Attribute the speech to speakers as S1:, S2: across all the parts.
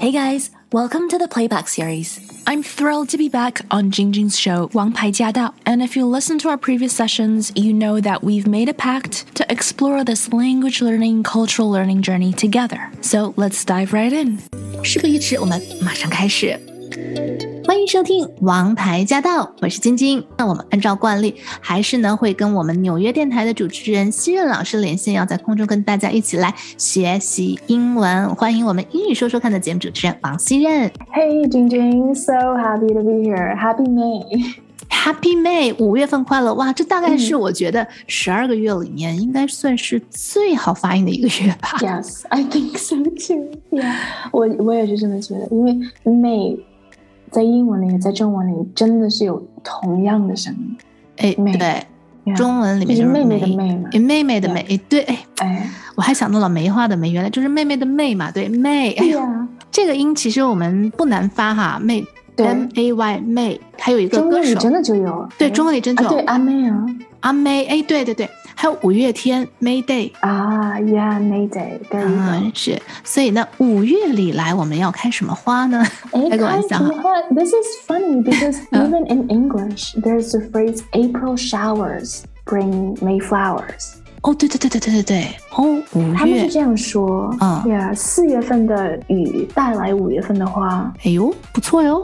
S1: Hey guys, welcome to the Playback series. I'm thrilled to be back on Jingjing's show 王牌驾到 and if you listen to our previous sessions, you know that we've made a pact to explore this language learning, cultural learning journey together. So let's dive right in. 事不宜迟，我们马上开始。欢迎收听王牌驾到，我是晶晶。那我们按照惯例，还是呢会跟我们纽约电台的主持人希任老师连线，要在空中跟大家一起来学习英文。欢迎我们英语说说看的节目主持人王希任。
S2: Hey Jingjing, so happy to be here. Happy May.Happy
S1: May， 5月份快乐！哇，这大概是我觉得12个月里面应该算是最好发音的一个月吧。
S2: Yes, I think so too. Yeah， 我也是这么觉得，因为 May 在英文里、在中文里真的是有同样的声音。
S1: May， 对。Yeah， 中文里面就是
S2: 妹妹的妹嘛，
S1: 妹妹的妹，
S2: yeah，
S1: 对，我还想到了梅花的梅，原来就是妹妹的妹嘛，对，妹。
S2: Yeah，
S1: 这个音其实我们不难发哈，妹。M-A-Y 妹，还有一个歌手，
S2: 中文里真的就有，
S1: 对，中文里真的有，
S2: 对，阿妹啊，
S1: 阿妹，哎，对对对，还有五月天 May Day
S2: 啊 ，Yeah May Day，
S1: 是，所以呢，5月里来我们要开什么花呢？开个玩笑哈。
S2: This is funny because even in English, there's the phrase April showers bring May flowers.
S1: 哦，对，哦，5月，
S2: 他们是这样说，Yeah， 4月份的雨带来5月份的花。
S1: 哎呦，不错哟。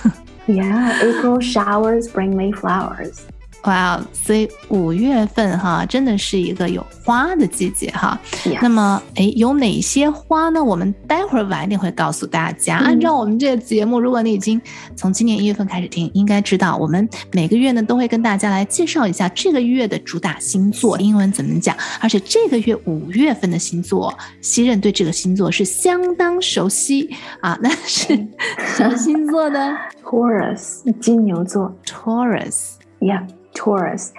S2: Yeah, April showers bring May flowers.
S1: 哇，所以5月份哈，真的是一个有花的季节哈。
S2: Yes.
S1: 那么，有哪些花呢？我们待会儿晚一点会告诉大家。按照我们这个节目，如果你已经从今年1月份开始听，应该知道我们每个月呢都会跟大家来介绍一下这个月的主打星座，英文怎么讲。而且这个月5月份的星座，希任对这个星座是相当熟悉啊。那是什么星座呢
S2: ？Taurus， 金牛座。
S1: Taurus。Yeah。Taurus,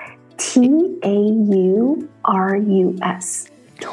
S2: Taurus,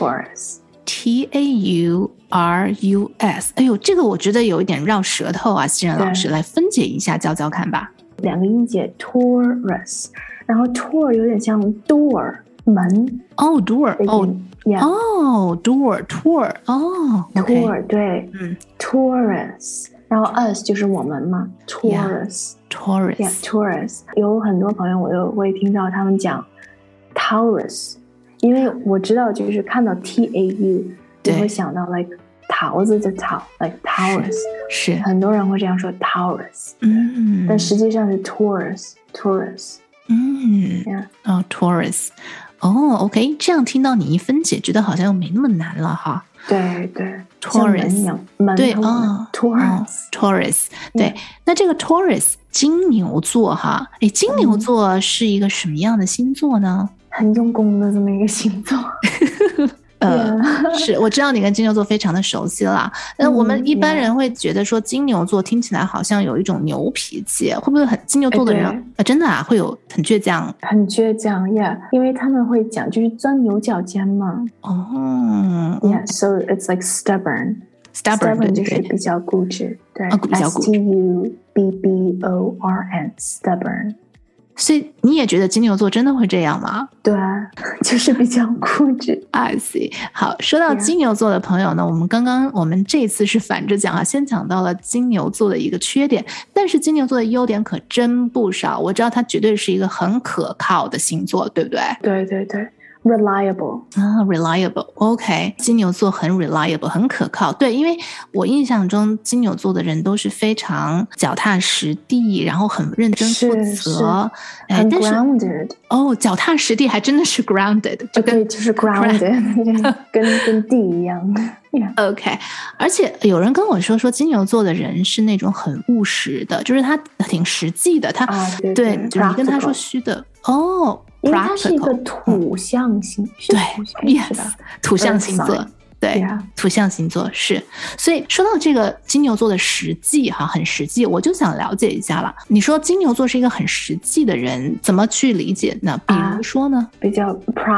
S1: Taurus。哎呦，这个我觉得有一点绕舌头啊，希任老师来分解一下，教教看吧。
S2: 2个音节 Taurus， 然后 Tor 有点像 door 门。
S1: 哦 door 哦
S2: yeah，
S1: 哦 door Tor 哦
S2: Tor 对Taurus， 然后 us 就是我们嘛 Taurus
S1: yeah,
S2: Taurus。 有很多朋友我都会听到他们讲 Taurus， 因为我知道就是看到 TAU 就会想到 like 桃子的桃 like Taurus，
S1: 是
S2: 很多人会这样说 Taurus， 但实际上是 Taurus
S1: yeah， 哦 Taurus 哦 OK， 这样听到你一分解，觉得好像又没那么难了哈。
S2: 对
S1: Taurus 对Taurus 对，那这个 Taurus 金牛座哈，金牛座是一个什么样的星座呢？
S2: 很用功的这么一个星座。
S1: 是我知道你跟金牛座非常的熟悉啦。那我们一般人会觉得说金牛座听起来好像有一种牛脾气，会不会很金牛座的人真的啊会有很倔强？
S2: 很倔强 ，Yeah， 因为他们会讲就是钻牛角尖嘛。Yeah， so it's like stubborn 就是比较固执，对，
S1: 比较固执
S2: ，Stubborn， stubborn。
S1: 所以你也觉得金牛座真的会这样吗？
S2: 对啊，就是比较固执。
S1: I see。 好，说到金牛座的朋友呢，我们这次是反着讲啊，先讲到了金牛座的一个缺点，但是金牛座的优点可真不少。我知道它绝对是一个很可靠的星座，对不对？
S2: 对，reliable
S1: reliable OK， 金牛座很 reliable 很可靠。对，因为我印象中金牛座的人都是非常脚踏实地，然后很认真负责，
S2: 很 grounded。
S1: 脚踏实地还真的是 grounded，
S2: 就是 grounded 跟地一样。
S1: OK， 而且有人跟我说金牛座的人是那种很务实的，就是他挺实际的，他对，就是你跟他说虚的
S2: 因为它是一个土象星，
S1: 对 ，yes， 土象星座，对，土象星座是。所以说到这个金牛座的实际哈，很实际，我就想了解一下了。你说金牛座是一个很实际的人，怎么去理解呢？比如说呢？
S2: 比较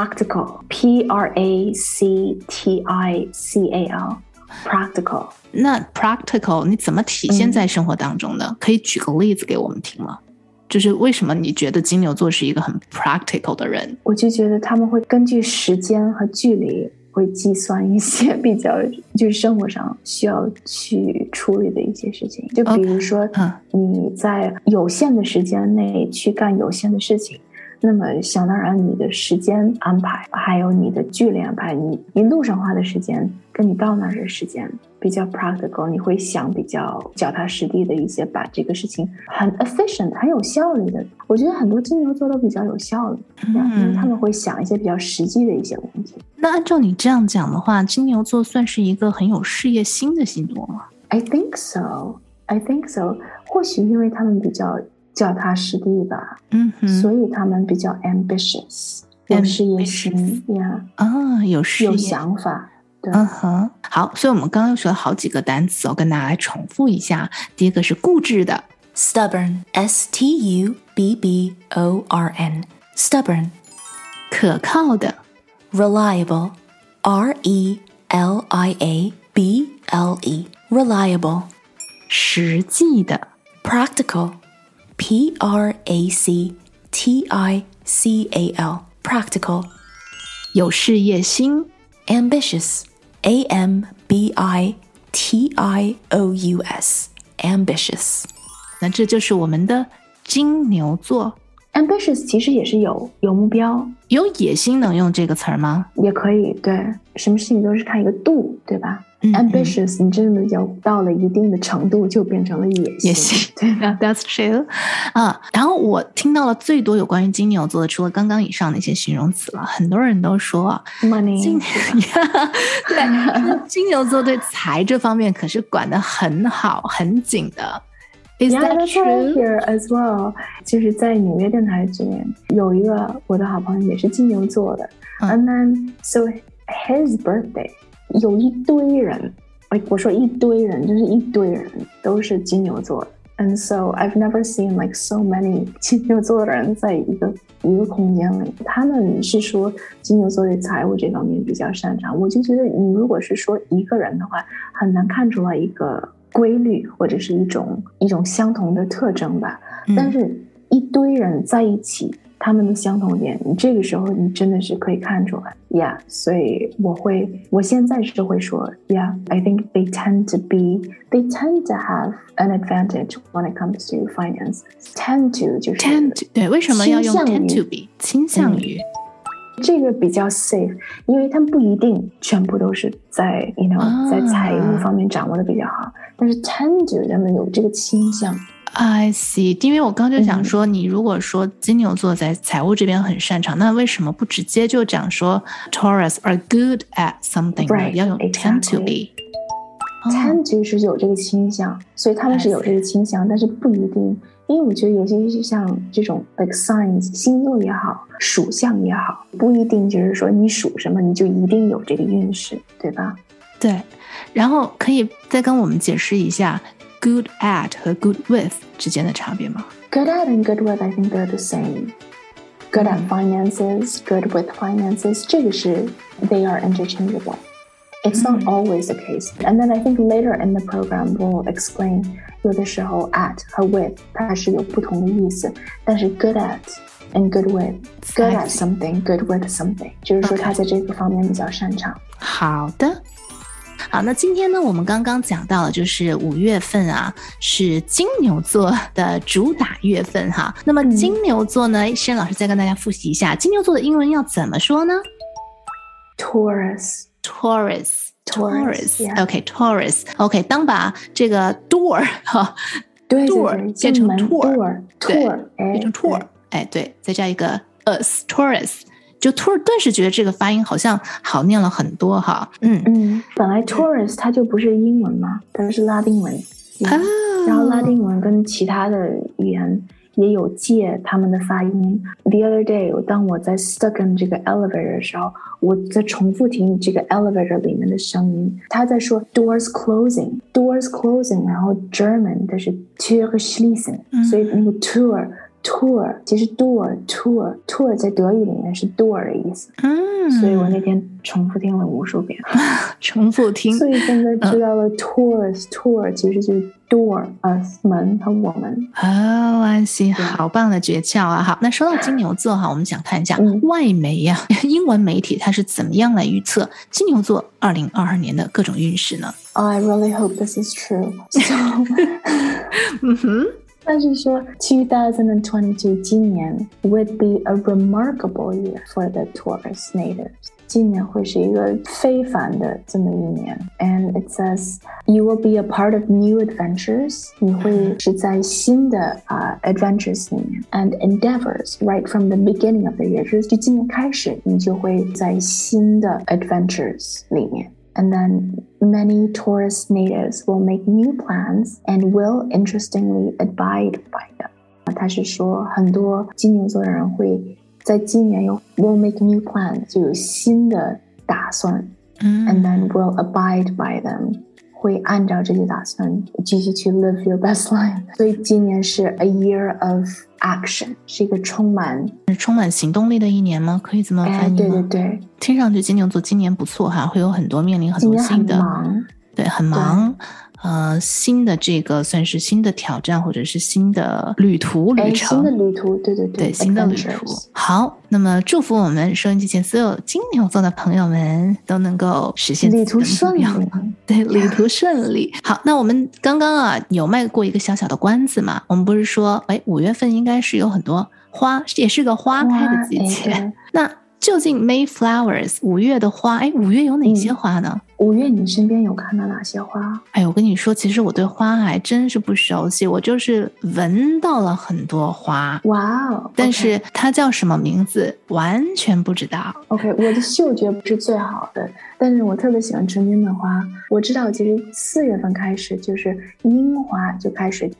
S2: practical，practical。
S1: 那 practical 你怎么体现在生活当中呢？可以举个例子给我们听吗？就是为什么你觉得金牛座是一个很 practical 的人？
S2: 我就觉得他们会根据时间和距离会计算一些比较就是生活上需要去处理的一些事情，就比如说你在有限的时间内去干有限的事情，那么想当然你的时间安排还有你的距离安排，你路上花的时间跟你到那儿的时间比较 practical， 你会想比较脚踏实地的一些，把这个事情很 efficient 很有效率的。我觉得很多金牛座都比较有效率，因为他们会想一些比较实际的一些问题。
S1: 那按照你这样讲的话，金牛座算是一个很有事业心的星座吗？
S2: I think so 或许因为他们比较脚踏实地吧，所以他们比较 ambitious 有事业心
S1: 有事业
S2: 有想法。对，
S1: 好，所以我们刚刚又学了好几个单词，跟大家来重复一下。第一个是固执的 stubborn S-T-U-B-B-O-R-N stubborn。 可靠的 reliable R-E-L-I-A-B-L-E reliable。 实际的 practical P-R-A-C-T-I-C-A-L practical。 有事业心 ambitious A-M-B-I-T-I-O-U-S ambitious。 那这就是我们的金牛座。
S2: ambitious 其实也是有目标，
S1: 有野心能用这个词儿吗？
S2: 也可以，对，什么事情都是看一个度，对吧？ambitious 你真的要到了一定的程度就变成了野心。
S1: 对，That's true。然后我听到了最多有关于金牛座的，除了刚刚以上的一些形容词了，很多人都说
S2: money
S1: 对，金牛座对财这方面可是管得很好很紧的。Is that true?
S2: Here as well。 就是在纽约电台这边有一个我的好朋友也是金牛座的，and then so his birthday有一堆人，我说一堆人就是一堆人都是金牛座的。And so I've never seen like so many 金牛座的人在一个空间里。他们是说金牛座对财务这方面比较擅长，我就觉得你如果是说一个人的话，很难看出来一个规律或者是一种相同的特征吧。但是一堆人在一起，他们的相同点，你这个时候你真的是可以看出来，yeah。所以我现在是会说 ，yeah。I think they tend to have an advantage when it comes to finance. Tend to 就是
S1: tend to， 对，为什么要用 tend to be 倾向于？
S2: 这个比较 safe， 因为他们不一定全部都是在在财务方面掌握的比较好，但是 tend to 他们有这个倾向。
S1: I see， 因为我刚就想说，你如果说金牛座在财务这边很擅长，那为什么不直接就讲说 Taurus are good at something，
S2: right，
S1: 要用 tend to be。Tend
S2: to 是有这个倾向，所以他们是有这个倾向，但是不一定。因为我觉得尤其是像这种 like signs 星座也好，属相也好，不一定就是说你属什么你就一定有这个运势，对吧？
S1: 对，然后可以再跟我们解释一下good at 和 good with 之间的差别吗？
S2: Good at and good with I think they're the same. Good at finances, good with finances， 这个是 they are interchangeable. It's not always the case. And then I think later in the program we'll explain 有的时候 at 和 with 它是有不同的意思，但是 good at and good with good at something, good with something 就是说他在这个方面比较擅长。
S1: 好的。好，那今天呢，我们刚刚讲到了，就是5月份啊，是金牛座的主打月份哈。那么金牛座呢，申老师再跟大家复习一下，金牛座的英文要怎么说呢？
S2: Taurus
S1: OK Taurus OK， 当把这个 door 哈，
S2: 对
S1: door 变成
S2: tour
S1: 变成 tour， 哎对，再加一个 us Taurus。就突然顿时觉得这个发音好像好念了很多哈。
S2: 本来 Taurus 它就不是英文嘛，它是拉丁文然后拉丁文跟其他的语言也有借他们的发音。The other day 当我在 stuck in 这个 elevator 的时候，我在重复听这个 elevator 里面的声音，他在说 doors closing， 然后 German 的是 Tür schließen，所以那个 Tür tour 其实 tour 在德语里面是 door 的意思，所以我那天重复听了无数遍，
S1: 重复听，
S2: 所以现在知道了 tour 其实就是 door 门和我们。
S1: I see， 好棒的诀窍啊！好，那说到金牛座哈，我们想看一下外媒呀，英文媒体它是怎么样来预测金牛座2022年的各种运势呢
S2: ？I really hope this is true. So 但是说2022今年 would be a remarkable year for the Taurus natives. 今年会是一个非凡的这么一年 And it says you will be a part of new adventures. 你会是在新的adventures 里面 And endeavors right from the beginning of the year. 就是今年开始你就会在新的 adventures 里面And then many Taurus natives will make new plans and will interestingly abide by them. 他是说很多金牛座的人会在今年will make new plans 就有新的打算and then will abide by them 会按照这些打算继续去 live your best life. 所以今年是 a year of action 是一个充满
S1: 行动力的一年吗？可以这么翻译吗？
S2: 对对对，
S1: 听上去金牛座今年不错哈，会有很多面临很多新的，
S2: 今年很忙，
S1: 对，很忙。新的这个算是新的挑战或者是新的旅程，
S2: 新的旅途，对，
S1: 新的旅途。好，那么祝福我们收音机前所有金牛座的朋友们都能够实现
S2: 旅途顺利，
S1: 对，旅途顺利。好，那我们刚刚有卖过一个小小的关子嘛，我们不是说5月份应该是有很多花，也是个花开的季节，那究竟 Mayflowers 5月的花，5月有哪些花呢
S2: ？5月你身边有看到哪些花？
S1: 我跟你说，其实我对花还真是不熟悉，我就是闻到了很多花。
S2: 哇哦！
S1: 但是它叫什么名字完全不知道。
S2: OK， 我的嗅觉不是最好的，但是我特别喜欢春天的花。我知道其实4月份开始就是樱花就开始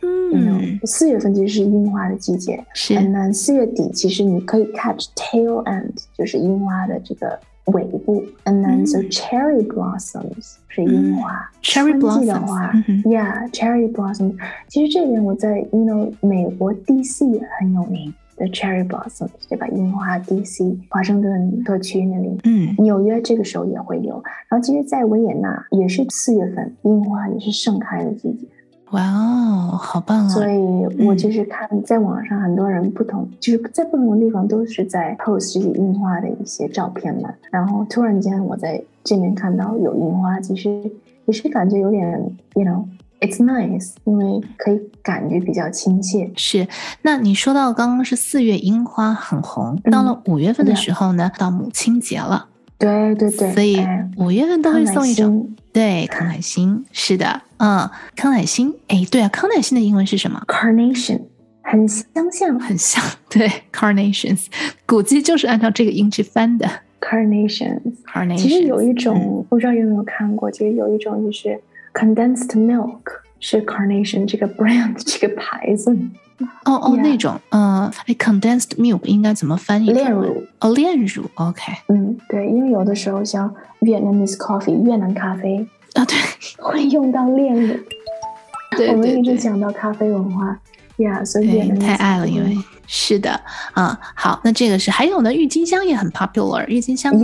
S2: ，4月份其实是樱花的季节，
S1: 是。
S2: 那4月底其实你可以 catch tail end， 就是樱花的这个尾部 and then so cherry blossoms 是樱花
S1: ，cherry blossoms
S2: 的话，yeah cherry blossoms。其实这边我在美国 DC 也很有名的 cherry blossoms， 对吧？樱花 DC 华盛顿特区那里，纽约这个时候也会有。然后其实，在维也纳也是4月份，樱花也是盛开的季节。
S1: 哇哦，好棒啊！
S2: 所以我就是看在网上很多人就是在不同的地方都是在 post 这些樱花的一些照片嘛，然后突然间我在这边看到有樱花，其实也是感觉有点 it's nice， 因为可以感觉比较亲切。
S1: 是，那你说到刚刚是4月樱花很红，到了5月份的时候呢，到母亲节了。
S2: 对对对，
S1: 所以5月份都会送一种对康乃馨，是的，康乃馨，对啊，康乃馨的英文是什么
S2: ？Carnation， 很像，
S1: 对 ，Carnations， 估计就是按照这个音去翻的
S2: Carnations。其实有一种，不知道有没有看过，其实有一种就是 condensed milk， 是 Carnation 这个 brand 这个牌子。
S1: 那种condensed milk 应该怎么翻译？
S2: 炼乳
S1: 炼乳 OK。
S2: 对，因为有的时候像 Vietnamese coffee 越南咖啡
S1: 对，
S2: 会用到炼乳。
S1: 对，
S2: 我们一直讲到咖啡文化所以越南
S1: 太爱了，因为是的好，那这个是还有呢，郁金香也很 popular， 郁金香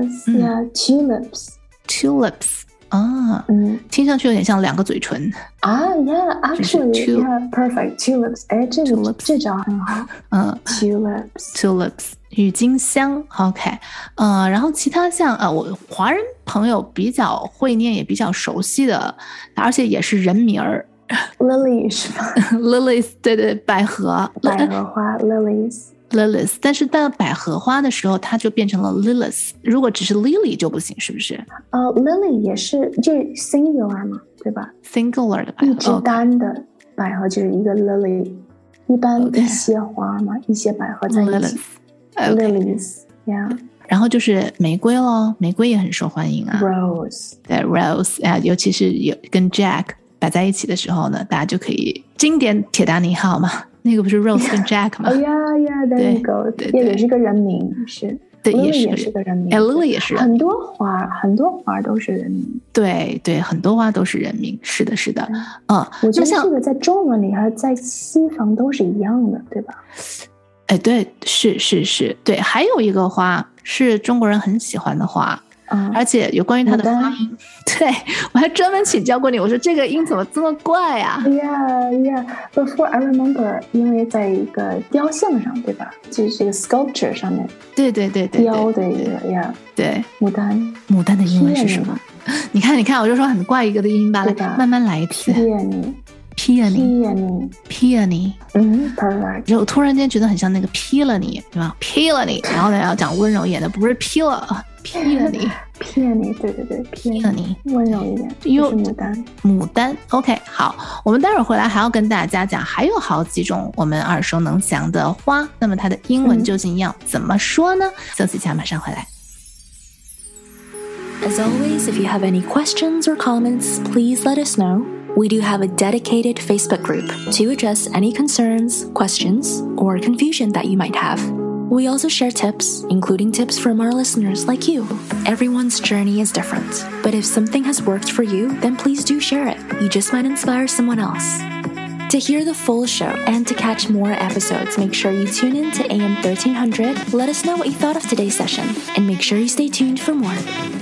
S2: tulips
S1: 听上去有点像2个嘴唇
S2: actually perfect tulips， 这招很好tulips
S1: 郁金香 OK， 然后其他像我华人朋友比较会念也比较熟悉的，而且也是人名儿
S2: Lily 是吧
S1: ？Lilies 对，百合
S2: 花 Lilies，
S1: 但是到百合花的时候，它就变成了 Lilies。如果只是 Lily 就不行，是不是
S2: ？Lily 也是，这 singular 嘛，对吧
S1: ？singular 的百合，
S2: 一只单的百合就是一个 Lily。一般一些花嘛，一些百合在一起 ，Lilies，
S1: 然后就是玫瑰咯，玫瑰也很受欢迎啊。
S2: Rose，
S1: 对 Rose 尤其是跟 Jack 摆在一起的时候呢，大家就可以经典铁达尼号嘛，那个不是 Rose 跟 Jack 吗？
S2: there you go， 也是个人名，是。
S1: 对，
S2: 也是个人名。
S1: Lily 也是人名。
S2: 很多花都是人名。
S1: 对对，很多花都是人名。是的，是的。
S2: 我觉得这个在中文里和在西方都是一样的，对吧？
S1: 哎，对，是，对。还有一个花是中国人很喜欢的花。而且有关于它的发音，对，我还专门请教过你，我说这个音怎么这么怪啊
S2: ？Yeah. Before I remember， 因为在一个雕像上，对吧？就是这个 sculpture 上面，
S1: 对，
S2: 雕的一个 ，Yeah，
S1: 对，
S2: 牡丹
S1: 的英文是什么？你看，我就说很怪一个的音吧，来，慢慢来一次。Peony，
S2: perfect。
S1: 就突然间觉得很像那个 Peony， 对吧 ？Peony， 然后呢要讲温柔一点的，不是 Peony，
S2: 对，Peony， 温柔一点，就是
S1: 牡丹。OK， 好，我们待会儿回来还要跟大家讲，还有好几种我们耳熟能详的花，那么它的英文究竟要怎么说呢？休息一下，马上回来。
S3: As always, if you have any questions or comments, please let us know. We do have a dedicated Facebook group to address any concerns, questions, or confusion that you might have. We also share tips, including tips from our listeners like you. Everyone's journey is different, but if something has worked for you, then please do share it. You just might inspire someone else. To hear the full show and to catch more episodes, make sure you tune in to AM 1300. Let us know what you thought of today's session, and make sure you stay tuned for more.